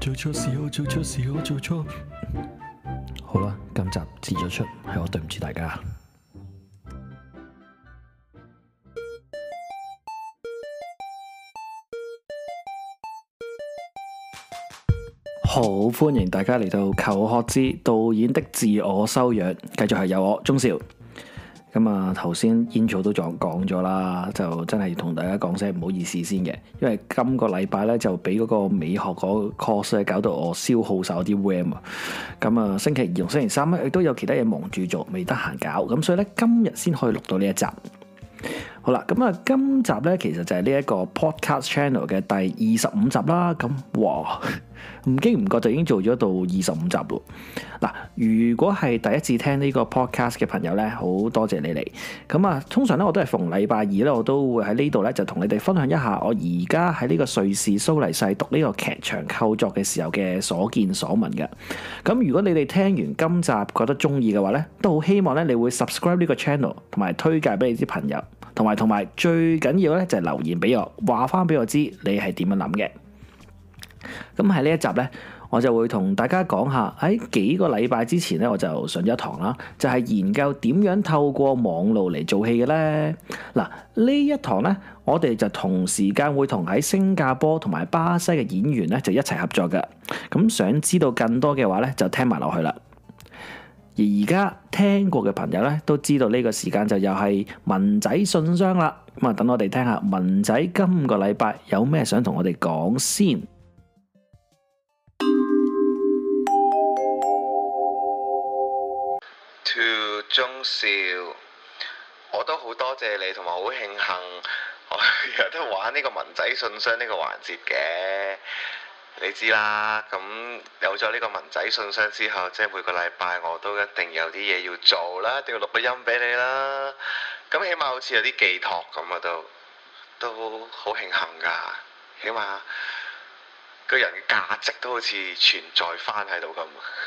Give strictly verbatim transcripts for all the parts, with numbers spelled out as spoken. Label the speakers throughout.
Speaker 1: 做錯事，我做錯事，我做錯。好啦，今集自咗出，係我對唔住大家。好，歡迎大家嚟到求學之導演的自我修養，繼續係有我鍾少。咁啊，頭先 intro 都仲講咗啦，就真係同大家講聲唔好意思先嘅，因為今個禮拜咧就俾嗰個美學嗰個 course 咧搞到我消耗晒我啲 RAM 啊。咁啊，星期二同星期三咧亦都有其他嘢忙住做，未得閒搞，咁所以咧今日先可以錄到呢一集。好啦，咁啊，今集咧其實就係呢一個 podcast channel 嘅第二十五集啦。咁哇，唔經唔覺就已經做咗到二十五集咯。嗱，如果係第一次聽呢個 podcast 嘅朋友咧，好多謝你嚟。咁啊，通常咧我都係逢禮拜二咧，我都會喺呢度咧就同你哋分享一下我而家喺呢個瑞士蘇黎世讀呢個劇場構作嘅時候嘅所見所聞嘅。咁如果你哋聽完今集覺得中意嘅話咧，都好希望咧你會 subscribe 呢個 channel，同埋推介俾你啲朋友。同埋同埋最緊要咧就係留言俾我，話翻俾我知你係點樣諗嘅。咁喺呢一集咧，我就會同大家講下喺幾個禮拜之前咧，我就上咗一堂啦，就係研究點樣透過網路嚟做戲嘅咧。嗱，呢一堂咧，我哋就同時間會同喺新加坡同埋巴西嘅演員咧就一齊合作嘅。咁想知道更多嘅話咧，就聽埋落去啦。而而家聽過嘅朋友咧，都知道呢個時間就又係文仔信箱啦。咁啊，等我哋聽下文仔今個禮拜有咩想同我哋講先。
Speaker 2: To 鍾少，我都好多謝你，同埋好慶幸我有得玩呢個文仔信箱呢個環節嘅。你知啦，咁有咗呢個文仔信箱之後，即係每個禮拜我都一定有啲嘢要做啦，一定要錄個音俾你啦。咁起碼好似有啲寄託咁啊，都都好慶幸㗎。起碼個人嘅價值都好似存在翻喺度咁。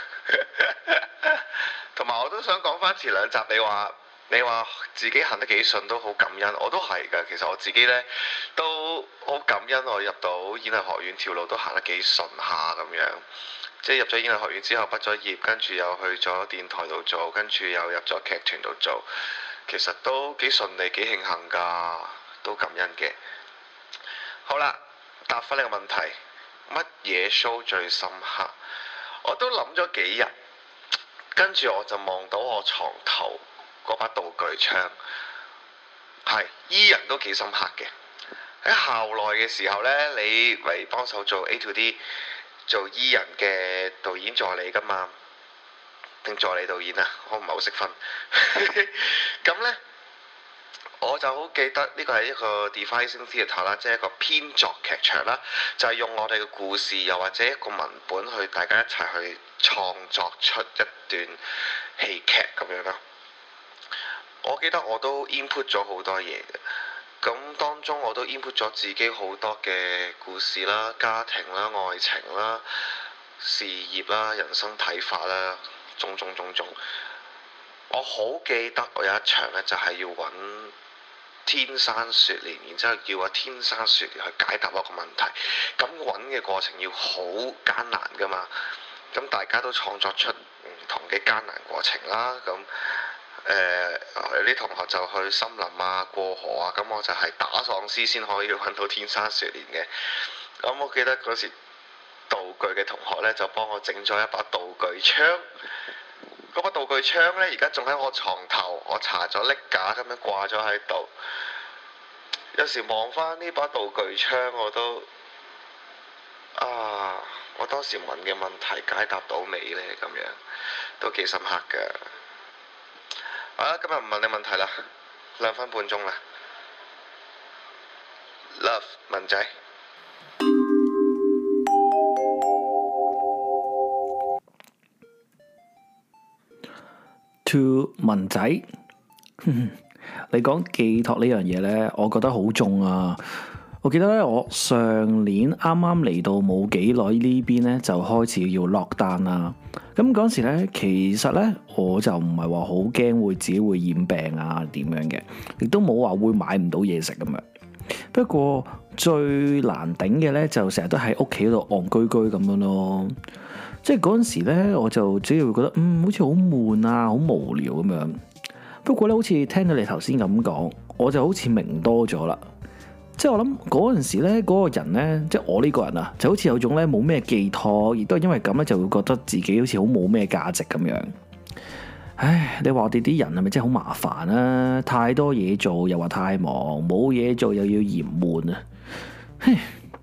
Speaker 2: 同埋我都想講翻前兩集，你話你話自己行得幾順都好感恩，我都係㗎。其實我自己呢都好感恩，我入到演藝學院條路都行得幾順下咁樣。即係入咗演藝學院之後畢咗業，跟住又去咗電台度做，跟住又入咗劇團度做，其實都幾順利，幾慶幸㗎，都感恩嘅。好啦，答翻呢個問題，乜嘢 show 最深刻？我都諗咗幾日，跟住我就望到我床頭嗰把道具槍，係醫人都幾深刻嘅。喺校內嘅時候呢，你嚟幫手做 A to D 做醫人嘅導演助理㗎嘛，定助理導演啊？我唔係好識分。咁呢，我就好記得呢個係一個 devising theatre 啦，即係一個編作劇場啦，就係、是、用我哋嘅故事，又或者一個文本去大家一齊去創作出一段戲劇咁樣啦。我記得我都 input 咗好多嘢嘅，咁當中我都 input 咗自己好多嘅故事啦、家庭啦、愛情啦、事業啦、人生睇法啦，種種種種。我好記得我有一場呢，就係要揾天山雪蓮，然之後叫阿天山雪蓮去解答一個問題。咁揾嘅過程要好艱難㗎嘛，咁大家都創作出唔同嘅艱難過程啦。咁誒、呃、有啲同學就去森林啊、過河啊，咁我就係打喪屍先可以揾到天山雪蓮嘅。咁我記得嗰時道具嘅同學呢，就幫我整咗一把道具槍。嗰把道具槍呢，而家仲喺我床頭，我搽咗拎架咁樣掛咗喺度。有時望翻呢把道具槍，我都啊，我當時問嘅問題解答到未呢？咁樣都幾深刻㗎。好啦，今日唔問你問題啦，兩分半鐘啦。Love 文仔。
Speaker 1: To 文仔，你講寄託呢樣嘢呢，我覺得好重啊！我記得咧，我上年啱啱嚟到冇幾耐呢邊咧，就開始要落單啦。咁嗰時咧，其實咧我就唔係話好驚會自己會染病啊點樣嘅，亦都冇話會買唔到嘢食咁樣。 不過最難頂嘅咧，就成日都喺屋企度戇居居咁樣咯。即係嗰陣時咧，我就只係會覺得，嗯，好似好悶啊，好無聊咁樣。不過咧，好似聽到你頭先咁講，我就好似明多咗啦。即係我諗嗰陣時咧，嗰個人咧，即係我呢個人啊，就好似有種咧冇咩寄託，亦都係因為咁咧，就會覺得自己好似好冇咩價值咁樣。唉，你話我哋啲人係咪真係好麻煩啊？太多嘢做，又話太忙，冇嘢做又要嫌悶啊！嘿，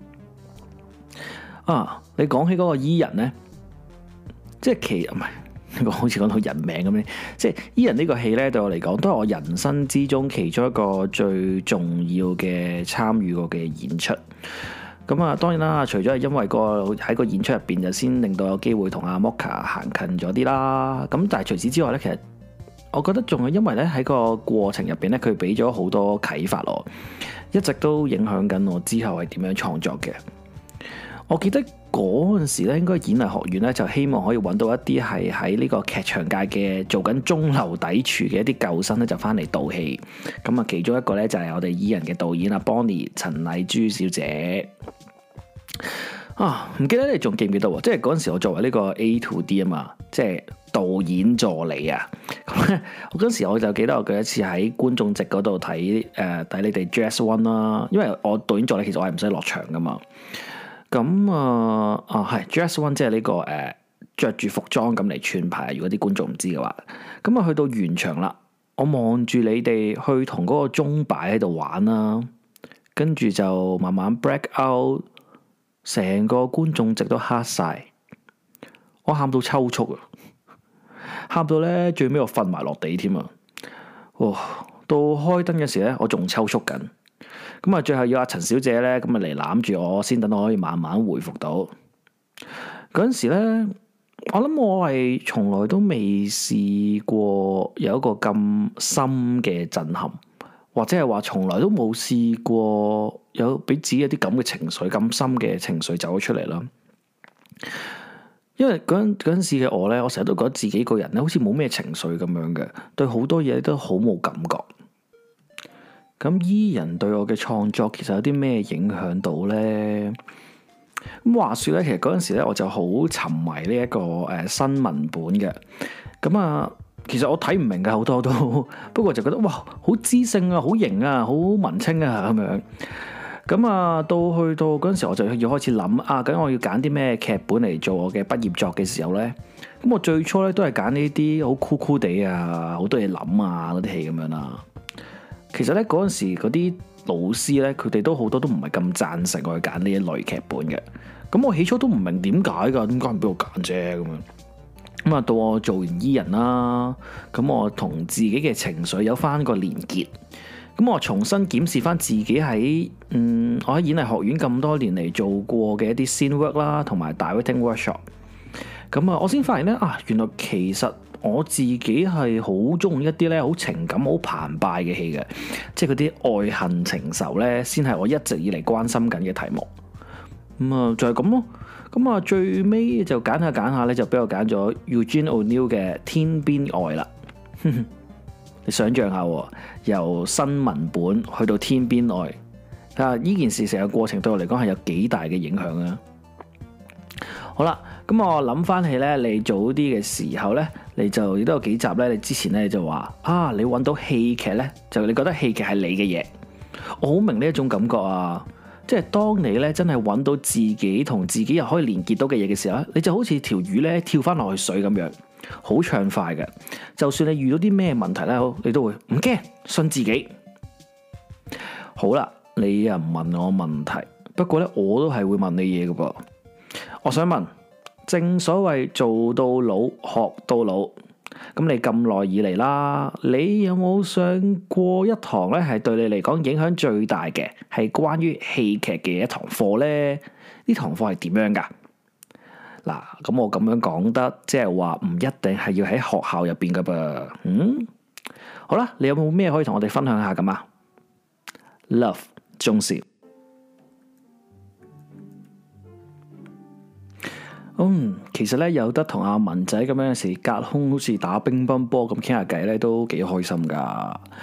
Speaker 1: 啊，你講起嗰個伊人咧，即係其唔係。好似講到人名咁樣，即係伊人呢個戲咧，對我嚟講都係我人生之中其中一個最重要嘅參與過嘅演出。咁啊，當然啦，除咗係因為個喺個演出入邊就先令到有機會同阿 Moka 行近咗啲啦。咁但係除此之外咧，其實我覺得仲係因為咧喺個過程入邊咧，佢俾咗好多啟發我，一直都影響緊我之後係點樣創作嘅。我記得嗰陣時咧，應該演藝學院咧就希望可以揾到一啲係喺呢個劇場界嘅做緊中流砥柱嘅一啲舊生咧，就翻嚟導戲。咁啊，其中一個咧就係我哋伊人嘅導演阿 Bonnie 陳麗珠小姐。啊，唔記得你仲記唔記得喎？即係嗰陣時我作為呢個 A to D 啊嘛，即係導演助理啊。咁咧，我嗰陣時我就記得我第一次喺觀眾席嗰度睇誒睇你哋 Jazz One 啦，因為我導演助理其實我係唔使落場噶嘛。咁啊啊係 Jazz One 即係呢個誒着住服裝咁嚟串牌，如果啲觀眾唔知嘅話，咁啊去到完場啦，我望住你哋去同嗰個鐘擺喺度玩啦，跟住就慢慢 break out，成個觀眾席都黑晒，我喊到抽搐啊，喊到咧最尾我瞓埋落地添啊，哇！到開燈嘅時咧，我仲抽搐緊。咁啊，最後要阿陳小姐咧，咁啊嚟攬住我，先等我可以慢慢回復到。嗰陣時咧，我諗我係從來都未試過有一個咁深嘅震撼，或者係話從來都冇試過有俾自己一啲咁嘅情緒，咁深嘅情緒走咗出嚟啦。因為嗰陣嗰陣時嘅我咧，我成日都覺得自己個人咧，好似冇咩情緒咁樣嘅，對好多嘢都好冇感覺。咁伊人對我嘅創作其實有啲咩影響到咧？咁話說咧，其實嗰陣時咧，我就好沉迷呢一個誒新文本嘅。咁啊，其實我睇唔明嘅好多都，不過就覺得哇，好知性啊，好型啊，好文青啊咁樣。咁啊，到去到嗰陣時，我就要開始諗啊，咁我要揀啲咩劇本嚟做我嘅畢業作嘅時候咧？咁我最初咧都係揀呢啲好酷酷地啊，好多嘢諗啊嗰啲戲咁樣啦。其實咧嗰陣時嗰啲老師咧，佢哋都好多都唔係咁贊成我去揀呢一類劇本嘅。咁我起初都唔明點解噶，點解唔俾我揀啫咁樣。咁啊到我做完伊人啦，咁我同自己嘅情緒有翻個連結。咁我重新檢視翻自己喺嗯我喺演藝學院咁多年嚟做過嘅一啲 scene work 啦，同埋 directing workshop。咁啊，我先發現咧啊，原來其實我自己係好中意一啲咧好情感好澎湃嘅戲嘅，即係嗰啲愛恨情仇咧，先係我一直以嚟關心緊嘅題目。咁、嗯、啊，就係咁咯。咁啊，最尾就揀下揀下咧，就俾我揀咗 Eugene O'Neill 嘅《天邊愛》啦。你想象下，由新文本去到天邊愛，啊！呢件事成個過程對我嚟講係有幾大嘅影響啊！好啦，咁我諗翻起咧，你早啲嘅時候咧，你就亦都有幾集咧，你之前咧就話啊，你揾到戲劇咧，就你覺得戲劇係你嘅嘢，我好明呢一種感覺啊！即係當你咧真係揾到自己同自己又可以連結到嘅嘢嘅時候，你就好似條魚咧跳翻落去水咁樣，好暢快嘅。就算你遇到啲咩問題咧，你都會唔驚，信自己。好啦，你又唔問我問題，不過咧我都係會問你嘢嘅噃。我想問，正所謂做到老學到老，咁你咁耐以嚟啦，你有冇上過一堂咧係對你嚟講影響最大嘅，係關於戲劇嘅一堂課咧？呢堂課係點樣噶？嗱，咁我咁樣講得，即係話唔一定係要喺學校入邊噶噃。嗯，好啦，你有冇咩可以同我哋分享下咁啊？Love 鍾少。嗯，其實咧有得同阿文仔咁樣有時隔空好似打乒乓波咁傾下偈咧，都幾開心噶。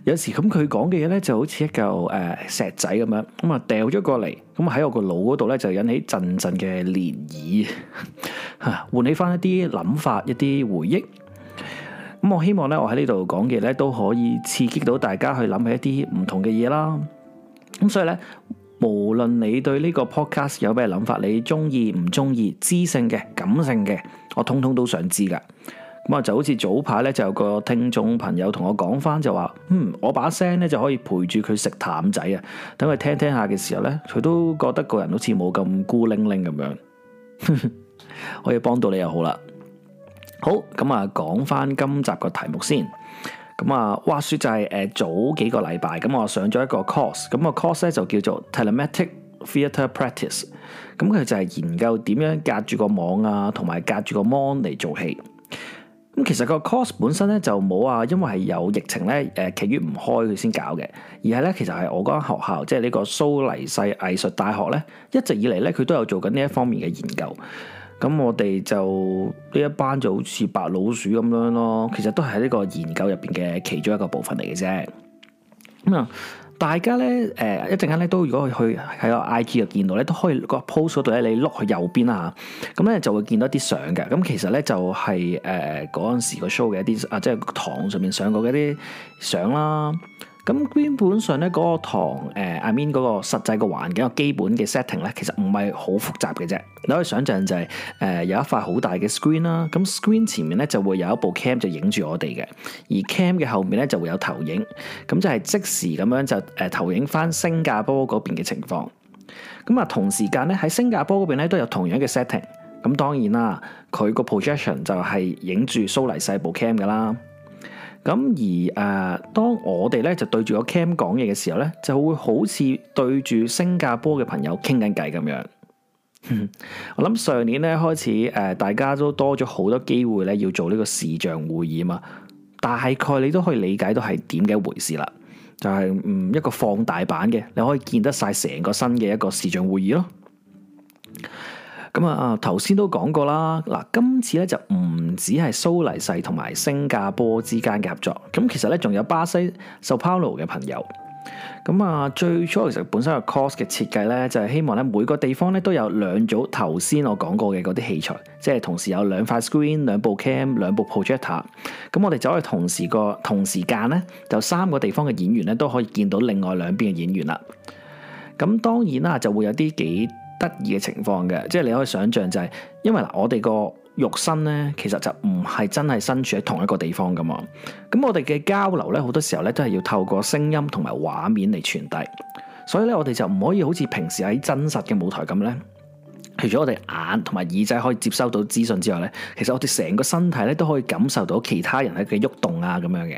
Speaker 1: 有時咁佢講嘅嘢咧就好似一嚿誒、呃、石仔咁樣，咁啊掉咗過嚟，咁喺我個腦嗰度咧就引起陣陣嘅漣漪，嚇喚起翻一啲諗法、一啲回憶。咁我希望咧，我喺呢度講嘅咧都可以刺激到大家去諗起一啲唔同嘅嘢啦。咁所以咧，無論你對呢個 podcast 有咩諗法，你中意唔中意，知性嘅、感性嘅，我通通都想知噶。咁啊，就好似早排咧，就有個聽眾朋友同我講翻，就話：嗯，我把聲咧就可以陪住佢食淡仔啊。等佢聽聽下嘅時候咧，佢都覺得個人好似冇咁孤零零咁樣。可以幫到你又好啦。好，咁啊，講翻今集個題目先。咁啊，話說就係、是、誒、呃、早幾個禮拜，咁我上咗一個 course，咁個 course 咧就叫做 Telematic Theatre Practice。咁佢就係研究點樣隔住個網啊，同埋隔住個 mon 嚟做戲。咁其實個 course 本身咧就冇話，因為係有疫情咧，誒劇院唔開佢先搞嘅，而係咧其實係我嗰間學校，即係呢個蘇黎世藝術大學咧，一直以嚟咧佢都有做緊呢一方面嘅研究。咁我哋就呢一班就好似白老鼠咁樣咯，其實都係呢個研究入邊嘅其中一個部分嚟嘅啫。咁啊，大家咧誒、呃、一陣間咧都如果去喺個 I G 度見到咧，都可以個 post 嗰度咧，你碌去右邊啦嚇，咁咧就會見到一啲相嘅。咁其實咧就係誒嗰陣時個 show 嘅一啲啊，即係堂上面上過嘅一啲相啦。咁基本上咧嗰個堂誒 I mean 嗰個實際個環境個基本嘅 setting 咧，其實唔係好複雜嘅啫。你可以想象就係、是、誒、呃、有一塊好大嘅 screen 啦，咁 screen 前面咧就會有一部 cam 就影住我哋嘅，而 cam 嘅後面咧就會有投影，咁就係即時咁樣就誒投影翻新加坡嗰邊嘅情況。咁啊同時間咧喺新加坡嗰邊咧都有同樣嘅 setting。咁當然啦，佢個 projection 就係影住蘇黎世部 cam 噶啦。咁而誒、呃，當我哋咧就對住個 cam 講嘢嘅時候咧，就會好似對住新加坡嘅朋友傾緊偈咁樣。我諗上年咧開始誒、呃，大家都多咗好多機會咧，要做呢個視像會議嘛。大概你都可以理解到係點嘅一回事啦。就係、是、嗯一個放大版嘅，你可以見得晒成個新嘅一個視像會議咯。咁啊，頭先都講過啦。嗱，今次咧就唔止係蘇黎世同埋新加坡之間嘅合作，咁其實咧仲有巴西sao Paulo嘅朋友。咁啊，最初其實本身個 course 嘅設計咧，就係希望咧每個地方咧都有兩組頭先我講過嘅嗰啲器材，即係同時有兩塊 screen、兩部 cam、兩部 projector。咁我哋就可以同時個同時間咧，就三個地方嘅演員咧都可以見到另外兩邊嘅演員啦。咁當然啦，就會有啲幾得意嘅情況嘅，即係你可以想象就係、是，因為嗱我哋個肉身咧，其實就唔係真係身處喺同一個地方噶嘛。咁我哋嘅交流咧，好多時候咧都係要透過聲音同埋畫面嚟傳遞，所以咧我哋就唔可以好似平時喺真實嘅舞台咁咧，除咗我哋眼同埋耳仔可以接收到資訊之外咧，其實我哋成個身體咧都可以感受到其他人喺嘅喐動啊咁樣嘅。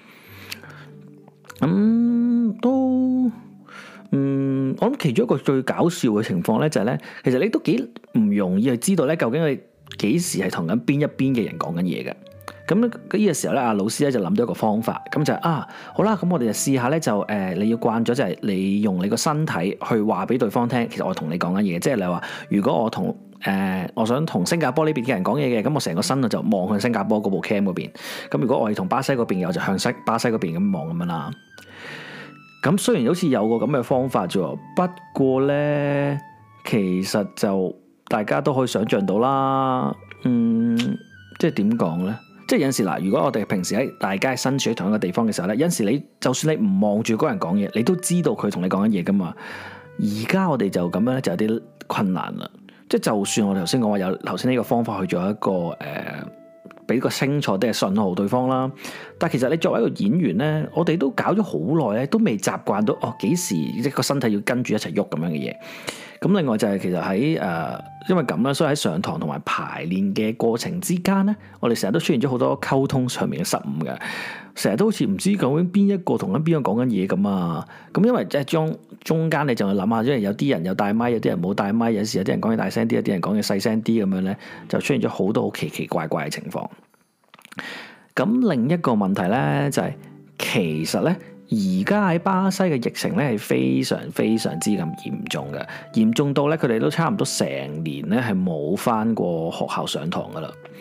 Speaker 1: 咁、嗯、都。嗯，我諗其中一個最搞笑嘅情況咧，就係咧，其實你都幾唔容易去知道咧，究竟你幾時係同緊邊一邊嘅人講緊嘢嘅。咁呢個時候咧，阿老師咧就諗到一個方法，咁就係、啊，好啦，咁我哋就試下咧，就誒、呃，你要慣咗就係你用你個身體去話俾對方聽，其實我同你講緊嘢，即係你話，如果我同誒、呃，我想同新加坡呢邊嘅人講嘢嘅，咁我成個身就望向新加坡嗰部 cam 嗰邊，咁如果我係同巴西嗰邊嘅，我就向西巴西嗰邊咁望咁樣啦。咁雖然好似有個咁嘅方法啫，不過咧，其實就大家都可以想象到啦。嗯，即係點講咧？即係有陣時嗱，如果我哋平時喺大家身處喺同一個地方嘅時候咧，有陣時你就算你唔望住嗰個人講嘢，你都知道佢同你講緊嘢噶嘛。而家我哋就咁樣咧，就有啲困難啦。即係就算我哋頭先講話有頭先呢個方法去做一個誒。呃俾個清楚啲嘅信號對方啦，但係其實你作為一個演員咧，我哋都搞咗好耐咧，都未習慣到哦幾時一個身體要跟住一齊喐咁樣嘅嘢。咁另外就係其實喺誒、呃，因為咁啦，所以喺上堂同埋排練嘅過程之間咧，我哋成日都出現咗好多溝通上面嘅失誤嘅，成日都好似唔知究竟邊一個同緊邊個講緊嘢咁啊。咁因為即係中中間你就去諗下，因為有啲人有帶咪，有啲人冇帶咪，有時有啲人講嘢大聲啲，有啲人講嘢細聲啲咁樣咧，就出現咗好多好奇奇怪怪嘅情況。咁另一個問題咧就係、是，其實咧而家喺巴西嘅疫情咧係非常非常之咁嚴重嘅，嚴重到咧佢哋都差唔多成年咧係冇返過學校上堂噶啦。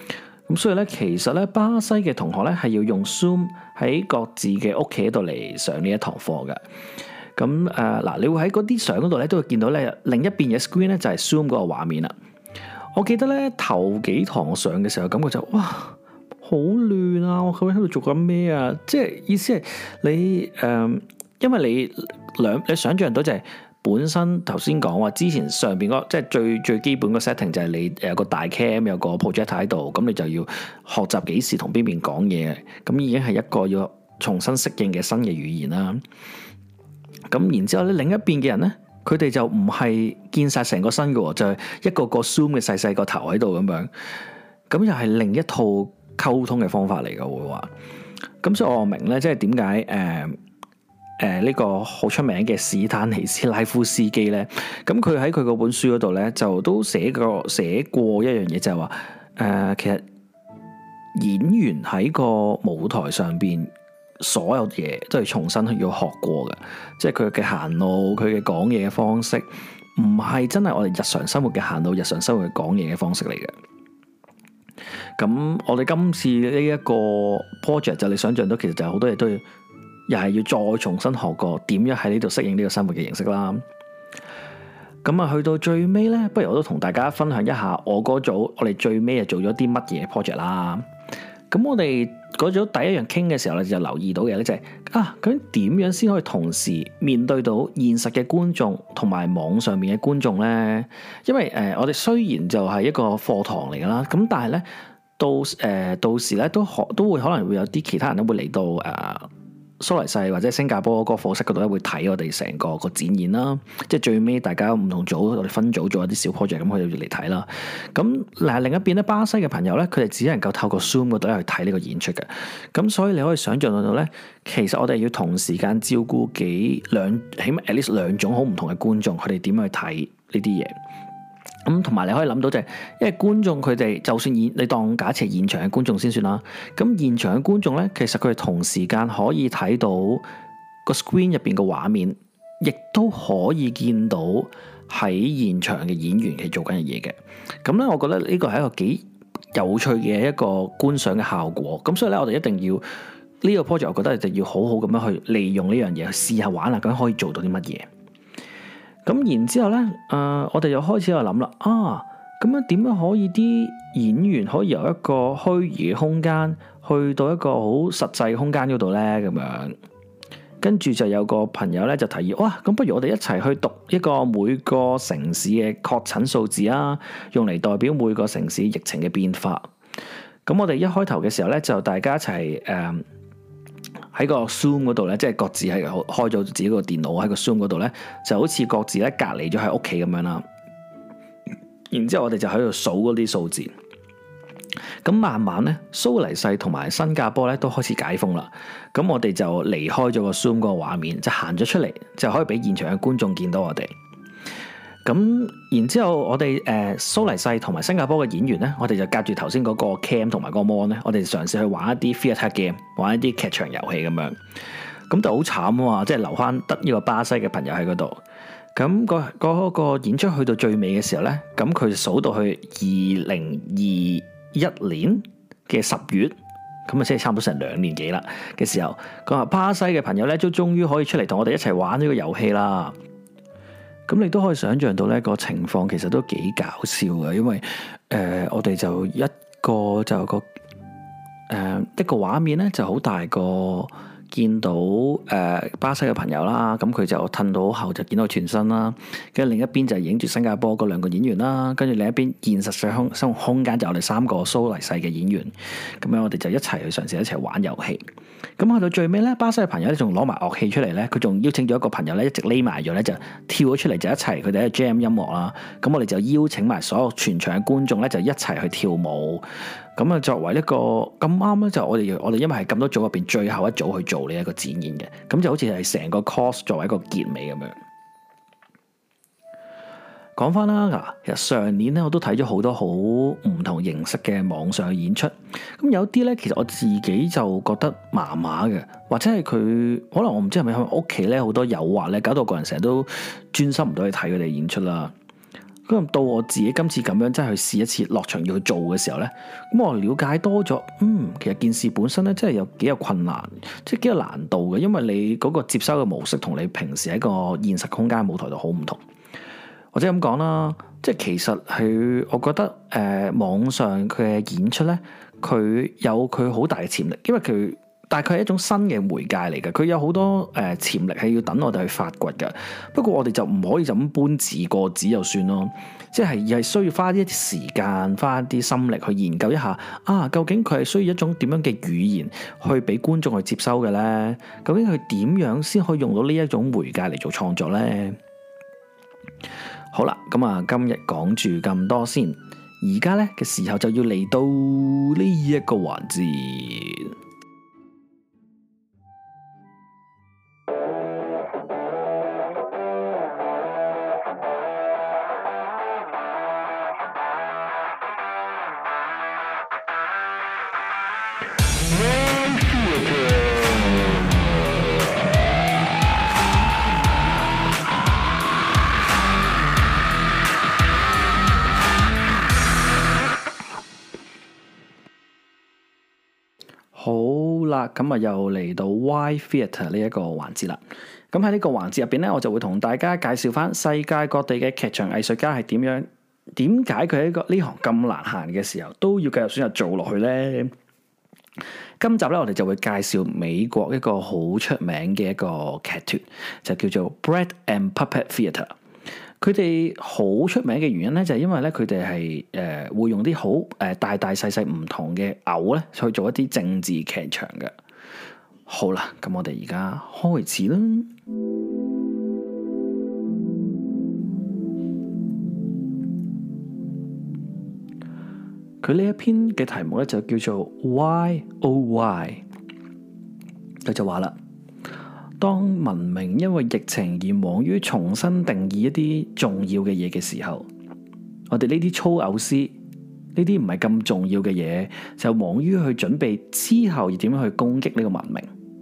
Speaker 1: 咁所以咧，其實咧巴西嘅同學咧係要用 Zoom 喺各自嘅屋企度嚟上呢一堂課嘅。咁誒嗱，你會喺嗰啲相嗰度咧都會見到咧另一邊嘅 screen 咧就係 Zoom 嗰個畫面啦。我記得咧頭幾堂上嘅時候，感覺就哇好亂啊！我究竟喺度做緊咩啊？即係意思係你誒、呃，因為你兩你想象到就係、是。本身頭先講話之前上邊嗰即係最最基本個 setting 就係你有個大 cam 有個 projector 喺度，咁你就要學習幾時同邊邊講嘢，咁已經係一個要重新適應嘅新嘅語言啦。咁然之後咧，另一邊嘅人咧，佢哋就唔係見晒成個身嘅，就係、是、一個個 zoom 嘅細細個頭喺度咁樣，咁又係另一套溝通嘅方法嚟嘅會話。咁所以我明咧，即係點解誒？呃誒呢、呃這個好出名嘅史丹尼斯拉夫斯基咧，咁佢喺佢嗰本書嗰度咧，就都寫過寫過一樣嘢，就係話誒其實演員喺個舞台上邊所有嘢都係重新要學過嘅，即係佢嘅行路、佢嘅講嘢嘅方式，唔係真係我哋日常生活嘅行路、日常生活嘅講嘢嘅方式嚟嘅。咁我哋今次呢一個 project 就你想象到，其實就好多嘢都要。又係要再重新學過點樣喺呢度適應呢個生活嘅形式啦。咁啊，去到最尾咧，不如我都同大家分享一下我嗰組，我哋最尾係做咗啲乜嘢 project 啦。咁我哋嗰組第一樣傾嘅時候咧，就留意到嘅咧就係、是、啊，究竟點樣先可以同時面對到現實嘅觀眾同埋網上面嘅觀眾咧？因為誒、呃，我哋雖然就係一個課堂嚟噶啦，咁但係咧到誒、呃、到時咧都可都會可能會有啲其他人都會嚟到誒。呃蘇黎世或者新加坡嗰個課室嗰度咧，會睇我哋成個個展演啦。即係最尾大家唔同組，我哋分組做一啲小 project，咁佢哋嚟睇啦。咁嗱，另一邊咧，巴西嘅朋友咧，佢哋只能夠透過 Zoom 嗰度去睇呢個演出嘅。咁所以你可以想象到咧，其實我哋要同時間照顧幾兩，起碼 at least 兩種好唔同嘅觀眾，佢哋點去睇呢啲嘢。咁同埋你可以諗到就係、是，因為觀眾佢哋就算現你當假設係現場嘅觀眾先算啦。咁現場嘅觀眾咧，其實佢哋同時間可以睇到個 screen 入邊嘅畫面，亦都可以見到喺現場嘅演員係做緊嘅嘢嘅。咁咧，我覺得呢個係一個幾有趣嘅一個觀賞嘅效果。咁所以咧，我哋一定要呢、這個 project，我覺得就要好好咁樣去利用呢樣嘢去試下玩下，咁可以做到啲乜嘢。咁然之後咧，誒、呃，我哋又開始喺度諗啦，啊，咁樣點樣可以啲演員可以由一個虛擬嘅空間去到一個好實際嘅空間嗰度咧？咁樣，跟住就有個朋友咧就提議，哇，咁不如我哋一齊去讀一個每個城市嘅確診數字啊，用嚟代表每個城市疫情嘅變化。咁我哋一開頭嘅時候咧，就大家一齊誒。呃喺個 Zoom 嗰度咧，即係各自係開咗自己個電腦喺個 Zoom 嗰度咧，就好似各自咧隔離咗喺屋企咁樣啦。然之後我哋就喺度數嗰啲數字。咁慢慢咧，蘇黎世同埋新加坡咧都開始解封啦。咁我哋就離開咗個 Zoom 嗰個畫面，就行咗出嚟，就可以俾現場嘅觀眾見到我哋。咁然之後我，我哋誒蘇黎世同埋新加坡嘅演員咧，我哋就隔住頭先嗰個 cam 同埋個 mon 咧，我哋嘗試去玩一啲 theatre game，玩一啲劇場遊戲咁樣。咁就好慘啊嘛，即係留翻得呢個巴西嘅朋友喺嗰度。咁、嗰個嗰、嗰個演出去到最尾嘅時候咧，咁佢數到去二零二一年嘅十月，咁啊即係差唔多成兩年幾啦嘅時候，佢話巴西嘅朋友咧都終於可以出嚟同我哋一齊玩呢個遊戲啦。咁你都可以想象到呢個情況其實都幾搞笑嘅，因為誒、呃、我哋就一個就有個誒、呃、一個畫面咧就好大個。見到誒、呃、巴西嘅朋友啦，咁佢就褪到後就見到全身啦，跟住另一邊就影住新加坡嗰兩個演員啦，跟住另一邊現實上空生活空間就我哋三個蘇黎世嘅演員，咁樣我哋就一齊去嘗試一齊玩遊戲。咁去到最尾咧，巴西嘅朋友咧仲攞埋樂器出嚟咧，佢仲邀請咗一個朋友咧一直匿埋咗咧就跳咗出嚟就一齊佢哋喺度 jam 音樂啦。咁我哋就邀請埋所有全場嘅觀眾咧就一齊去跳舞。咁啊，作為一個咁啱咧，就我哋我哋因為係咁多組入邊最後一組去做呢一個展演嘅，咁就好似係成個 course 作為一個結尾咁樣。講翻啦，嗱，其實上年咧我都睇咗好多好唔同形式嘅網上演出，咁有啲咧其實我自己就覺得麻麻嘅，或者係佢可能我唔知係咪喺屋企咧好多誘惑咧，搞到個人成日都專心唔到去睇佢哋演出啦。 咁到我自己今次咁樣真係去試一次落場要去做嘅時候呢，咁我了解多咗，嗯，其實件事本身咧真係有幾有困難，即係幾有難度嘅，因為你嗰個接收嘅模式同你平時喺個現實空間舞台度好唔同。或者咁講啦，即係其實佢，我覺得誒、呃、網上佢嘅演出咧，佢有佢好大嘅潛力，因為佢但係佢係一種新嘅媒介嚟嘅，佢有好多誒、呃、潛力係要等我哋去發掘嘅。不過我哋就唔可以就咁搬字過紙就算咯，即係係需要花一啲時間，花一啲心力去研究一下啊，究竟佢係需要一種點樣嘅語言去俾觀眾去接收嘅咧？究竟佢點樣先可以用到呢一種媒介嚟做創作咧？好啦，咁啊，今日講住咁多先，而家咧嘅時候就要嚟到呢一個環節。好啦，咁啊又嚟到 Why Theatre 呢一個環節啦。咁喺呢個環節入邊咧，我就會同大家介紹翻世界各地嘅劇場藝術家係點樣，點解佢喺個呢行咁難行嘅時候都要繼續選擇做落去咧。今集咧，我哋就會介紹美國一個好出名嘅一個劇團，就叫做 Bread and Puppet Theatre。佢哋好出名嘅原因咧，就係因為咧佢哋係誒會用啲好誒大大細細唔同嘅偶咧去做一啲政治劇場嘅。好啦，咁我哋而家開始啦。佢呢一篇嘅題目咧就叫做 Why Oh Why。佢就話啦，當文明因為疫情而忙於重新定義一啲重要嘅嘢嘅時候，我哋呢啲粗偶師，呢啲唔係咁重要嘅嘢，就忙於去準備之後要點樣去攻擊呢個文明。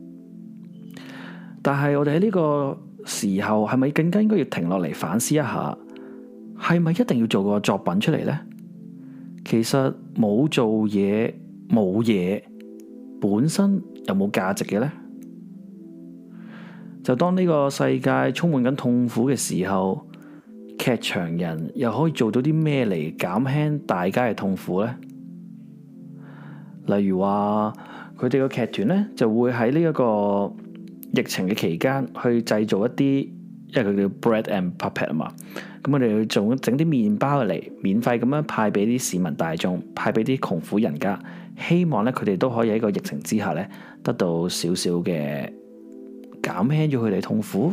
Speaker 1: 但係我哋喺呢個時候，係咪更加應該要停落嚟反思一下，係咪一定要做個作品出嚟呢？其實冇做嘢冇嘢本身有冇價值嘅呢？就當呢個世界充滿緊痛苦嘅時候，劇場人又可以做到啲咩嚟減輕大家嘅痛苦呢？例如話佢哋個劇團咧就會喺呢一個疫情嘅期間去製造一啲，因為佢叫 bread and puppet 啊嘛，咁我哋去做整啲麵包嚟，免費咁樣派俾啲市民大眾，派俾啲窮苦人家，希望咧佢哋都可以喺個疫情之下咧得到少少嘅減輕咗佢哋痛苦。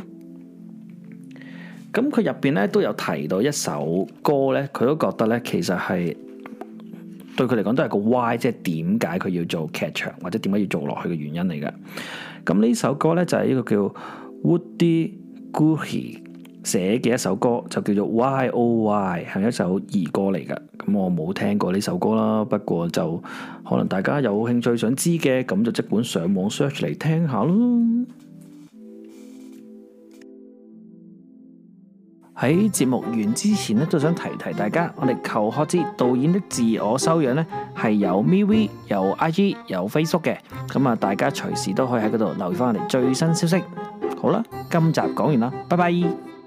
Speaker 1: 咁佢入邊咧都有提到一首歌咧，佢都覺得咧其實係對佢嚟講都係個 why， 即係點解佢要做劇場或者點解要做落去嘅原因嚟嘅。咁呢首歌咧就係一個叫 Woody Guthrie 寫嘅一首歌，就叫做 Why Oh Why， 係一首兒歌嚟㗎。咁我冇聽過呢首歌啦，不過就可能大家有興趣想知嘅，咁就即管上網 search 嚟聽下咯。喺節目完之前咧，都想提提大家，我哋求學之導演的自我修養咧係有 MeWe、有 I G、有 Facebook 嘅，咁啊大家隨時都可以喺嗰度留意翻我哋最新消息。好啦，今集講完啦，拜拜。